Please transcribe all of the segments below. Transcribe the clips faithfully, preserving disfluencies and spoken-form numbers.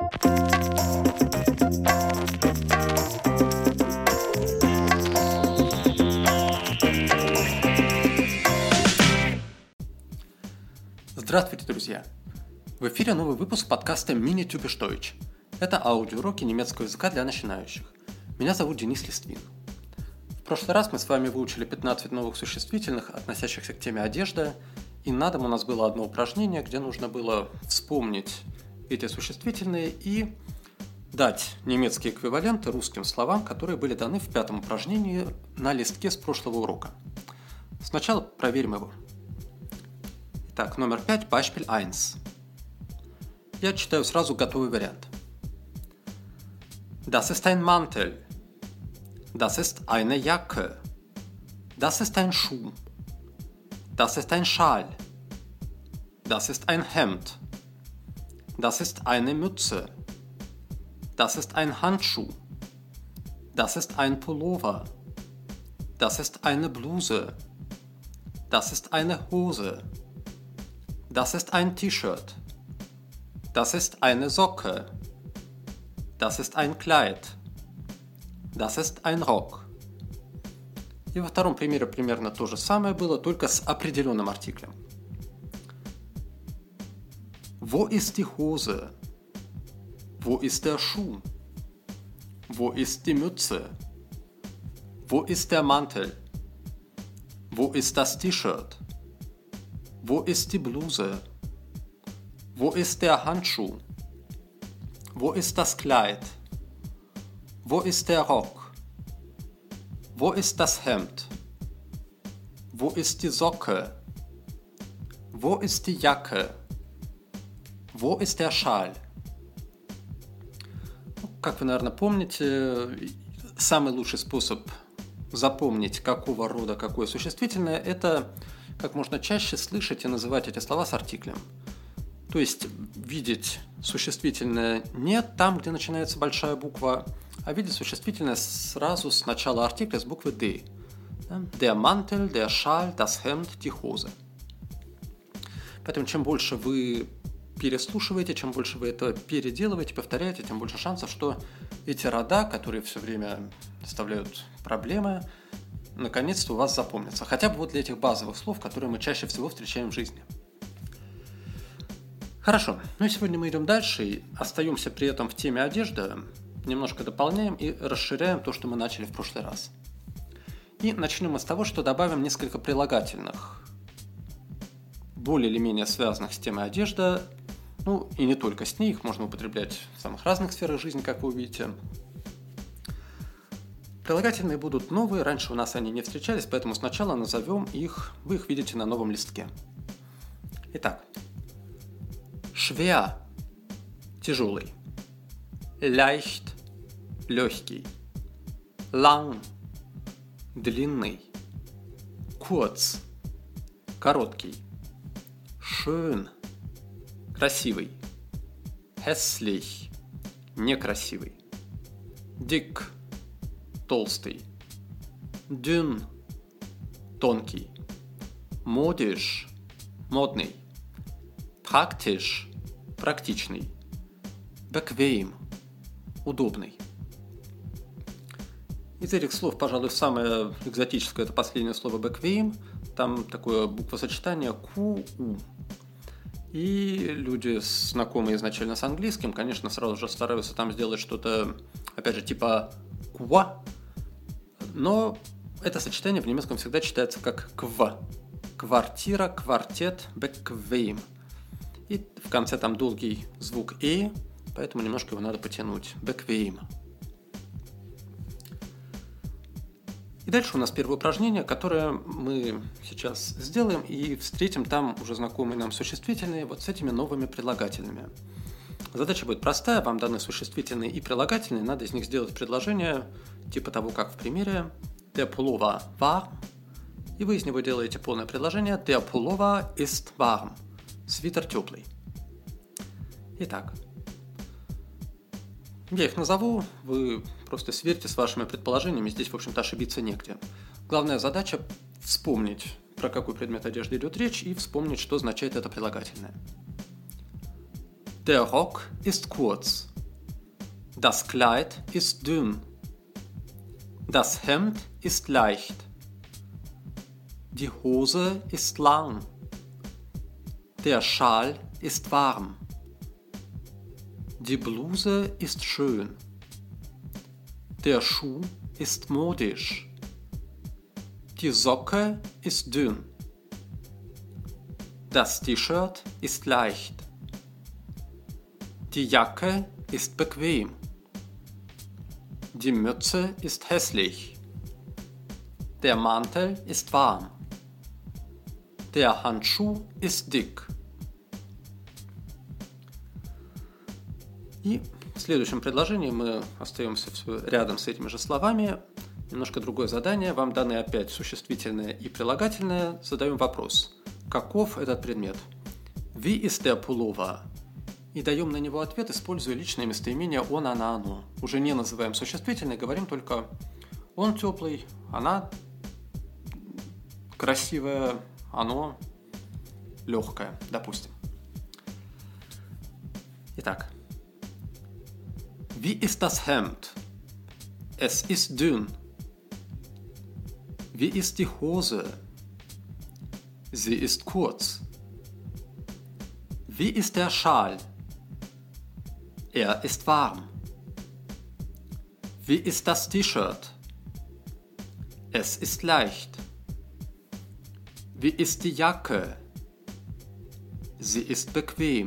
Здравствуйте, друзья! В эфире новый выпуск подкаста Mini Typisch Deutsch. Это аудиоуроки немецкого языка для начинающих. Меня зовут Денис Листвин. В прошлый раз мы с вами выучили пятнадцать новых существительных, относящихся к теме одежда, и на дом у нас было одно упражнение, где нужно было вспомнить эти существительные и дать немецкие эквиваленты русским словам, которые были даны в пятом упражнении на листке с прошлого урока. Сначала проверим его. Итак, номер пять, Beispiel eins. Я читаю сразу готовый вариант. Das ist ein Mantel. Das ist eine Jacke. Das ist ein Schuh. Das ist ein Schal. Das ist ein Hemd. Das ist eine Mütze. Das ist ein Handschuh. Das ist ein Pullover. Das ist eine Bluse. Das ist eine Hose. Das ist ein T-Shirt. Das ist eine Socke. Das ist ein Kleid. Das ist ein Rock. И во втором примере примерно то же самое было, только с определенным артиклем. Wo ist die Hose? Wo ist der Schuh? Wo ist die Mütze? Wo ist der Mantel? Wo ist das T-Shirt? Wo ist die Bluse? Wo ist der Handschuh? Wo ist das Kleid? Wo ist der Rock? Wo ist das Hemd? Wo ist die Socke? Wo ist die Jacke? Wo ist der Schal? Как вы, наверное, помните, самый лучший способ запомнить, какого рода какое существительное, это как можно чаще слышать и называть эти слова с артиклем. То есть видеть существительное не там, где начинается большая буква, а видеть существительное сразу с начала артикля с буквы D. Der Mantel, der Schal, das Hemd, die Hose. Поэтому чем больше вы переслушиваете, чем больше вы это переделываете, повторяете, тем больше шансов, что эти рода, которые все время доставляют проблемы, наконец-то у вас запомнятся. Хотя бы вот для этих базовых слов, которые мы чаще всего встречаем в жизни. Хорошо, ну и сегодня мы идем дальше и остаемся при этом в теме одежды, немножко дополняем и расширяем то, что мы начали в прошлый раз. И начнем мы с того, что добавим несколько прилагательных, более или менее связанных с темой одежды, ну и не только с ней, их можно употреблять в самых разных сферах жизни, как вы увидите. Прилагательные будут новые, раньше у нас они не встречались, поэтому сначала назовем их, вы их видите на новом листке. Итак, schwer – тяжелый, leicht – легкий, lang – длинный, kurz – короткий, schön – красивый, hässlich – некрасивый, dick – толстый, dünn – тонкий, modisch – модный, praktisch – практичный, bequem – удобный. Из этих слов, пожалуй, самое экзотическое – это последнее слово bequem. Там такое буквосочетание ку у. И люди, знакомые изначально с английским, конечно, сразу же стараются там сделать что-то, опять же, типа ква. Но это сочетание в немецком всегда читается как кв. Квартира, квартет, bequem. И в конце там долгий звук «э», поэтому немножко его надо потянуть. Bequem. И дальше у нас первое упражнение, которое мы сейчас сделаем и встретим там уже знакомые нам существительные вот с этими новыми прилагательными. Задача будет простая, вам даны существительные и прилагательные, надо из них сделать предложение типа того, как в примере Der Pullover war, и вы из него делаете полное предложение Der Pullover ist warm. Свитер теплый. Итак, я их назову, вы просто сверьте с вашими предположениями, здесь, в общем-то, ошибиться негде. Главная задача – вспомнить, про какой предмет одежды идет речь, и вспомнить, что означает это прилагательное. Der Rock ist kurz. Das Kleid ist dünn. Das Hemd ist leicht. Die Hose ist lang. Der Schal ist warm. Die Bluse ist schön. Der Schuh ist modisch. Die Socke ist dünn. Das T-Shirt ist leicht. Die Jacke ist bequem. Die Mütze ist hässlich. Der Mantel ist warm. Der Handschuh ist dick. И в следующем предложении мы остаемся все рядом с этими же словами. Немножко другое задание. Вам даны опять существительное и прилагательное. Задаем вопрос. Каков этот предмет? Wie ist der Pullover? И даем на него ответ, используя личное местоимение он, она, оно. Уже не называем существительное, говорим только он теплый, она красивая, оно легкое, допустим. Итак. Wie ist das Hemd? Es ist dünn. Wie ist die Hose? Sie ist kurz. Wie ist der Schal? Er ist warm. Wie ist das T-Shirt? Es ist leicht. Wie ist die Jacke? Sie ist bequem.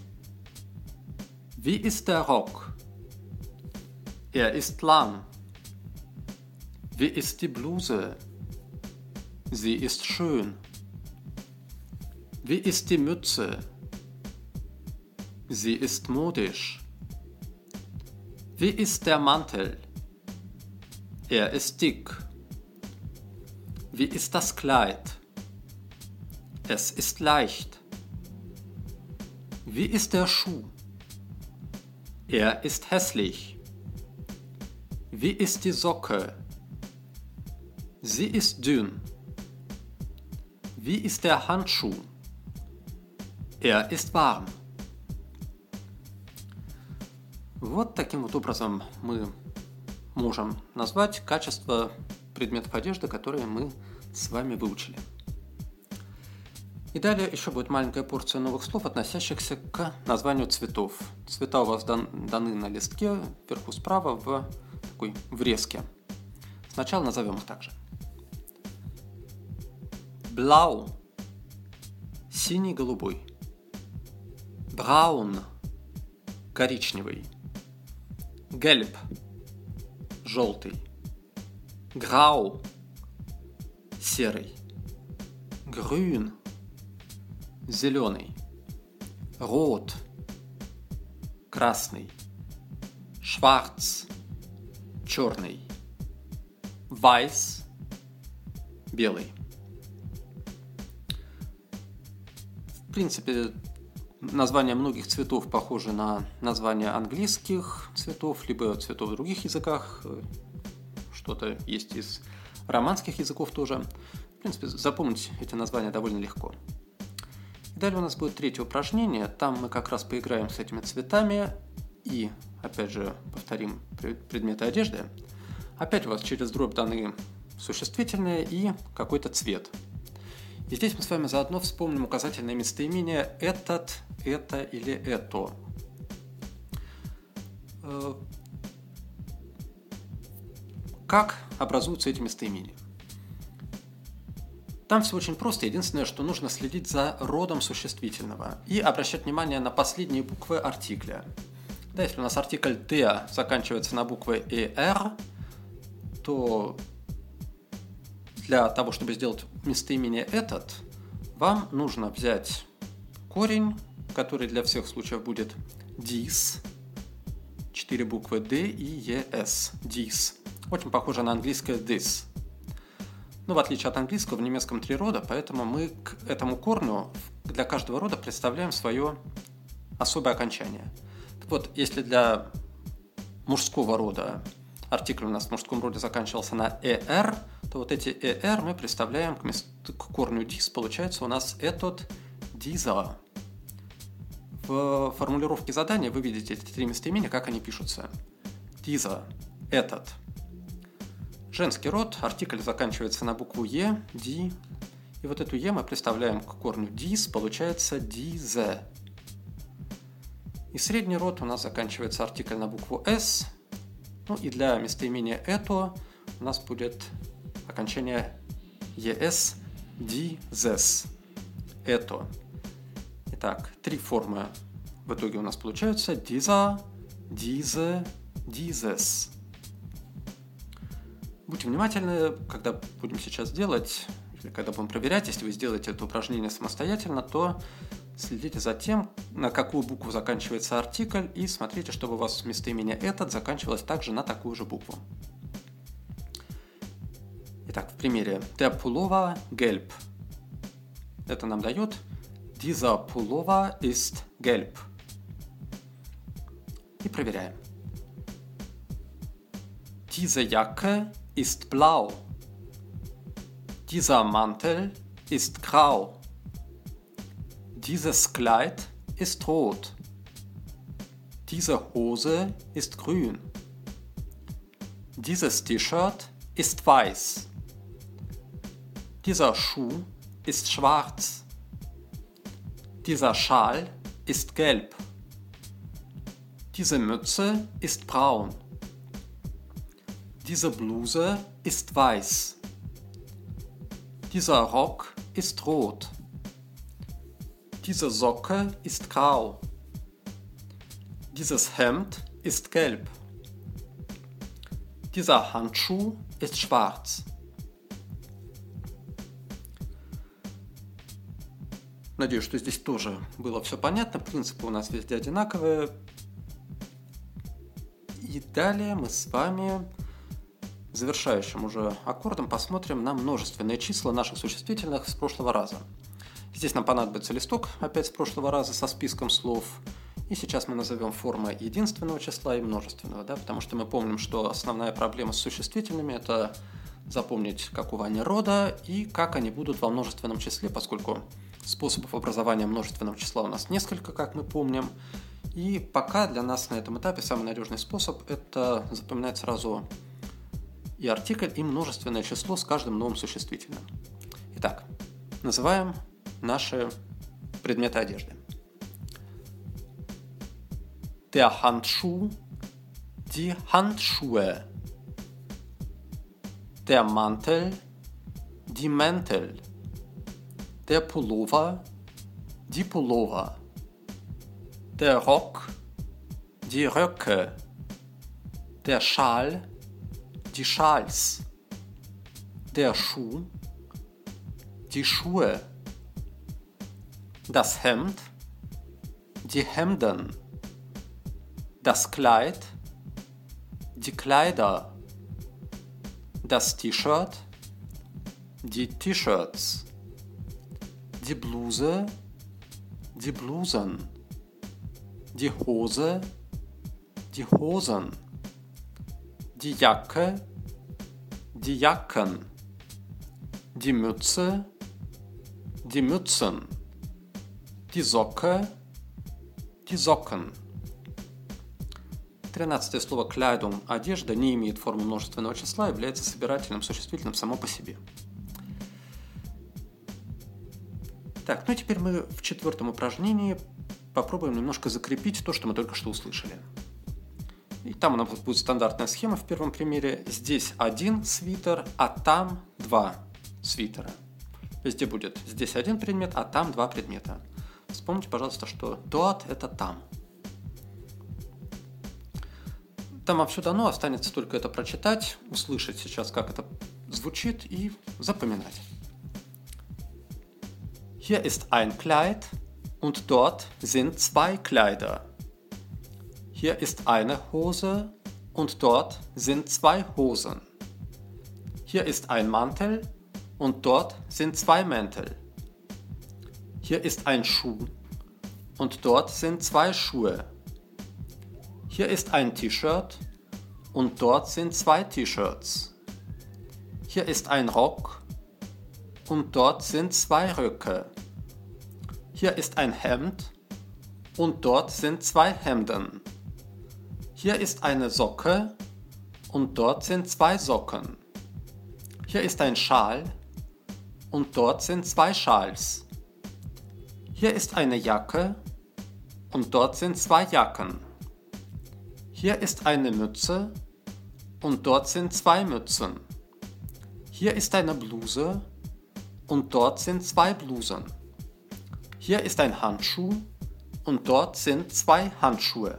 Wie ist der Rock? Er ist lang. Wie ist die Bluse? Sie ist schön. Wie ist die Mütze? Sie ist modisch. Wie ist der Mantel? Er ist dick. Wie ist das Kleid? Es ist leicht. Wie ist der Schuh? Er ist hässlich. Wie ist die Socke? Sie ist dünn. Wie ist der Handschuh? Er ist warm. Вот таким вот образом мы можем назвать качество предметов одежды, которые мы с вами выучили. И далее еще будет маленькая порция новых слов, относящихся к названию цветов. Цвета у вас дан, даны на листке, вверху справа в такой врезке. Сначала назовем их также. Blau – синий-голубой. Braun – коричневый. Gelb – желтый. Grau – серый. Grün – зеленый. Rot – красный. Schwarz – черный. Weiß – белый. В принципе, названия многих цветов похожи на названия английских цветов, либо цветов в других языках. Что-то есть из романских языков тоже. В принципе, запомнить эти названия довольно легко. И далее у нас будет третье упражнение. Там мы как раз поиграем с этими цветами и, опять же, повторим предметы одежды. Опять у вас через дробь даны существительные и какой-то цвет. И здесь мы с вами заодно вспомним указательное местоимение «этот», «это» или «это». Как образуются эти местоимения? Там все очень просто. Единственное, что нужно следить за родом существительного и обращать внимание на последние буквы артикля. Да, если у нас артикль «der» заканчивается на буквы «er», то для того, чтобы сделать местоимение «этот», вам нужно взять корень, который для всех случаев будет dies, четыре буквы D и es, dies. Очень похоже на английское this. Но в отличие от английского, в немецком три рода, поэтому мы к этому корню для каждого рода представляем свое особое окончание. Так вот, если для мужского рода артикль у нас в мужском роде заканчивался на er, то вот эти er мы представляем к, мест... к корню dis, получается у нас этот, dieser. В формулировке задания вы видите эти три местоимения, как они пишутся. dieser, этот. Женский род, артикль заканчивается на букву «е», «ди». И вот эту «е» мы представляем к корню «дис», получается «дизе». И средний род у нас заканчивается артикль на букву «с». Ну и для местоимения «это» у нас будет окончание «ес», «дизес». «Это». Итак, три формы в итоге у нас получаются «диза», «дизе», «дизес». Будьте внимательны, когда будем сейчас делать, или когда будем проверять, если вы сделаете это упражнение самостоятельно, то следите за тем, на какую букву заканчивается артикль, и смотрите, чтобы у вас местоимение «этот» заканчивалось также на такую же букву. Итак, в примере «Der Pullover gelb». Это нам дает «Dieser Pullover ist gelb». И проверяем. Diese Jacke ist blau. Dieser Mantel ist grau. Dieses Kleid ist rot. Diese Hose ist grün. Dieses T-Shirt ist weiß. Dieser Schuh ist schwarz. Dieser Schal ist gelb. Diese Mütze ist braun. Diese Bluse ist weiß. Dieser Rock ist rot. Diese Socke ist grau. Dieses Hemd ist gelb. Dieser Handschuh ist schwarz. Надеюсь, что здесь тоже было все понятно. Принципы у нас везде одинаковые. И далее мы с вами завершающим уже аккордом посмотрим на множественные числа наших существительных с прошлого раза. Здесь нам понадобится листок опять с прошлого раза со списком слов. И сейчас мы назовем формы единственного числа и множественного, да, потому что мы помним, что основная проблема с существительными – это запомнить, какого они рода и как они будут во множественном числе, поскольку способов образования множественного числа у нас несколько, как мы помним. И пока для нас на этом этапе самый надежный способ – это запоминать сразу и артикль, и множественное число с каждым новым существительным. Итак, называем наши предметы одежды. Der Handschuh, die Handschuhe. Der Mantel, die Mäntel. Der Pullover, die Pullover. Der Rock, die Röcke. Der Schal, die Schals. Der Schuh, die Schuhe. Das Hemd, die Hemden. Das Kleid, die Kleider. Das T-Shirt, die T-Shirts. Die Bluse, die Blusen. Die Hose, die Hosen. Die Jacke, die Jacken. Die Mütze, die Mützen. Die Socke, die Socken. Тринадцатое слово «kleidung» – одежда не имеет формы множественного числа, является собирательным существительным само по себе. Так, ну и теперь мы в четвертом упражнении попробуем немножко закрепить то, что мы только что услышали. И там у нас будет стандартная схема в первом примере. Здесь один свитер, а там два свитера. Везде будет здесь один предмет, а там два предмета. Вспомните, пожалуйста, что dort – это там. Там вам все дано, останется только это прочитать, услышать сейчас, как это звучит, и запоминать. Hier ist ein Kleid und dort sind zwei Kleider. Hier ist eine Hose und dort sind zwei Hosen. Hier ist ein Mantel und dort sind zwei Mäntel. Hier ist ein Schuh und dort sind zwei Schuhe. Hier ist ein T-Shirt und dort sind zwei T-Shirts. Hier ist ein Rock und dort sind zwei Röcke. Hier ist ein Hemd und dort sind zwei Hemden. Hier ist eine Socke und dort sind zwei Socken. Hier ist ein Schal und dort sind zwei Schals. Hier ist eine Jacke und dort sind zwei Jacken. Hier ist eine Mütze und dort sind zwei Mützen. Hier ist eine Bluse und dort sind zwei Blusen. Hier ist ein Handschuh und dort sind zwei Handschuhe.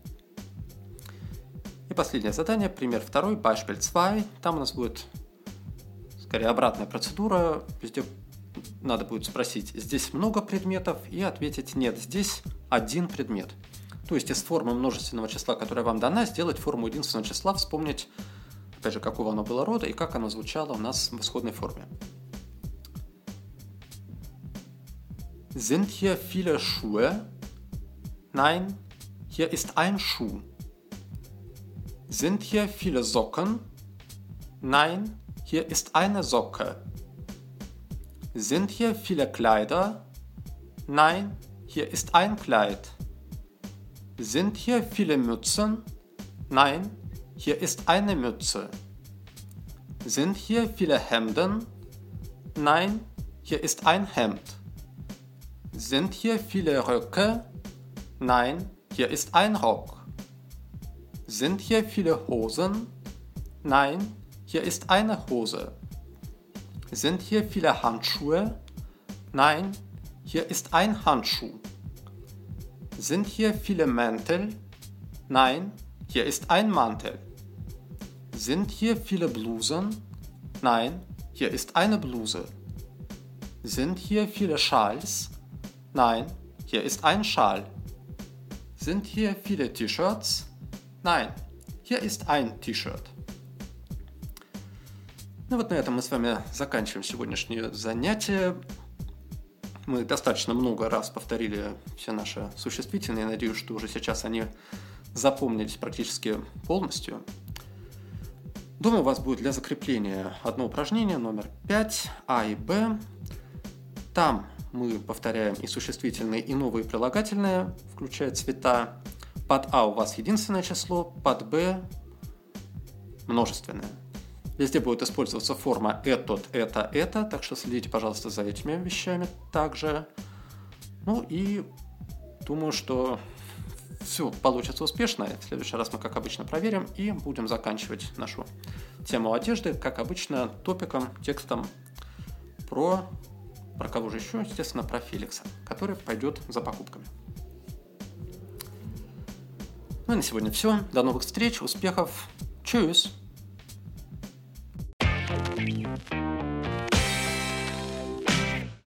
И последнее задание, пример второй, beispiel два. Там у нас будет скорее обратная процедура. Везде надо будет спросить, здесь много предметов, и ответить нет, здесь один предмет. То есть из формы множественного числа, которая вам дана, сделать форму единственного числа, вспомнить, опять же, какого оно было рода и как оно звучало у нас в исходной форме. Sind hier viele Schuhe? Nein, hier ist ein Schuh. Sind hier viele Socken? Nein, hier ist eine Socke. Sind hier viele Kleider? Nein, hier ist ein Kleid. Sind hier viele Mützen? Nein, hier ist eine Mütze. Sind hier viele Hemden? Nein, hier ist ein Hemd. Sind hier viele Röcke? Nein, hier ist ein Rock. Sind hier viele Hosen? Nein, hier ist eine Hose. Sind hier viele Handschuhe? Nein, hier ist ein Handschuh. Sind hier viele Mäntel? Nein, hier ist ein Mantel. Sind hier viele Blusen? Nein, hier ist eine Bluse. Sind hier viele Schals? Nein, hier ist ein Schal. Sind hier viele T-Shirts? Nein, hier ist ein T-Shirt. Ну вот на этом мы с вами заканчиваем сегодняшнее занятие. Мы достаточно много раз повторили все наши существительные. Я надеюсь, что уже сейчас они запомнились практически полностью. Думаю, у вас будет для закрепления одно упражнение, номер пять, А и Б. Там мы повторяем и существительные, и новые прилагательные, включая цвета. Под А у вас единственное число, под Б множественное. Везде будет использоваться форма «этот», «это», «это», так что следите, пожалуйста, за этими вещами также. Ну и думаю, что все получится успешно. В следующий раз мы, как обычно, проверим и будем заканчивать нашу тему одежды, как обычно, топиком, текстом про, про кого же еще, естественно, про Феликса, который пойдет за покупками. Ну и на сегодня все. До новых встреч, успехов. Tschüss!